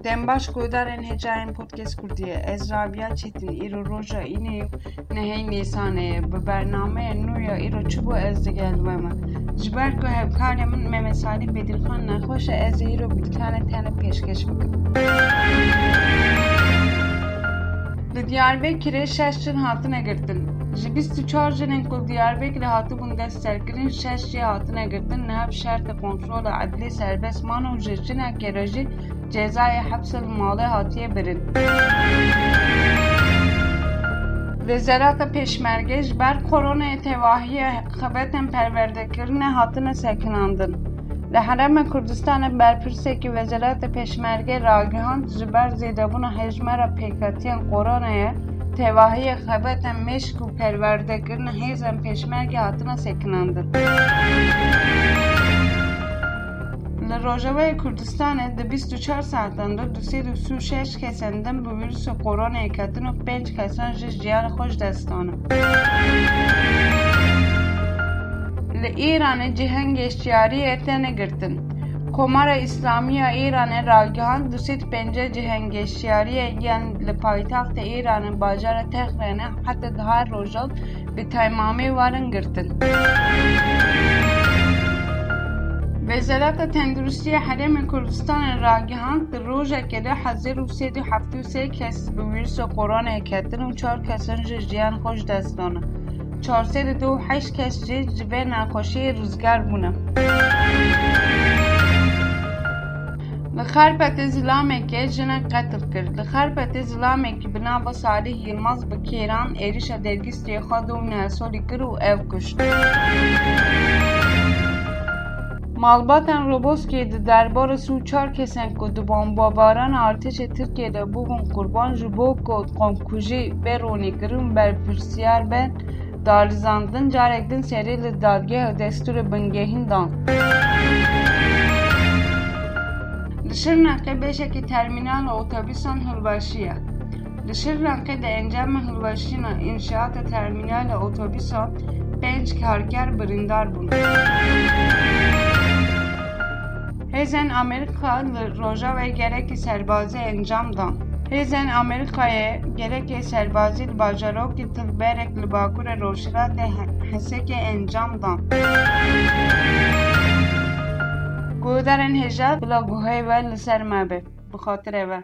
Dembaş Godarên Hecayên Podcast Kurdiye Ez Rabia Çetin îro roja înê nehê Nîsanê bi bernameyên nû ya îro çi bû ez digelîme me. Ji ber ku hevkarê min Mehmet Salî Bedîlxan nexweş e ez ê îro bîltene tene pêşkêş bikim. Li Diyarbekirê 6 cin hatine girtin. Ji 24 jinên ku Diyarbekirê hatibûn destserkirin 6 jî hatine girtin niha bi şertê kontrola edlî serbest man û ji jinekê re jî cezayê hepsel malê hatiye birin. Wezareta Pêşmerge ji ber koronayê tevahiya xebetên perwerdekirinê hatine sekinandin. Li Herêma Kurdistanê berpirsekî Wezareta Pêşmerge ragihand ji ber zêdebûna hejmara pêketiyên koronayê tevahiya xebetên mêşk û perwerdekirinê hêzên Pêşmerge hatine sekinandin. Li Rojavayê Kurdistanê di 24 saaten de 236 kesên din bi vîrusa koronayê ketin û 5 kesan ji jiyana xwe ji dest danin. Li Îranê cihên geştyariyê tene girtin. Komara İslami ya İranê ragihand 250 cihên geştyariyê yên li paytexta Îranê bajara Tehranê heta dihar rojal bi temamî warin girtin. Wezareta Tendurustiya Herêma Kurdistanê ragihand di rojekê de 1373 kes bi vîrusa koronayê ketin û 4 kesin ji jiyan xwe ji dest danin. 428 kes jî ji vê nexweşiyê rizgar bûne. Li Xarpetê Zilamekê jinek qetil kir. Li Xarpetê Zilamekî bi nava Salih Yılmaz bi kêran êrişa dergîstiyê xwe 2 solî kir û ev kuşt. Malbatên Roboskiyê di derbara 4 kesên ku di bombebarana artêşa Tirkiyeyê de bûbûn qurban ji bo ku qomkujî bê ronîkirin berpirsiyar bên darizandin carek din serî li dadgeha destûrê bingehîn dan. Li Şirnexê beşekî termînala otobîsan hilweşiye. Li Şirnexê di encama hilweşîna înşaata termînala otobîsan 5 karger birîndar bûn. Hêzên Amerîka li Rojavayê gerekî serbazî encam dan. Hêzên Amerîkayê gerekê serbazî li bajarokê Tilberek li Bakurê Rojhilatê Hesekê encam dan. Guhdarên hêja bila guhê we li ser me be. Bi xatirê we.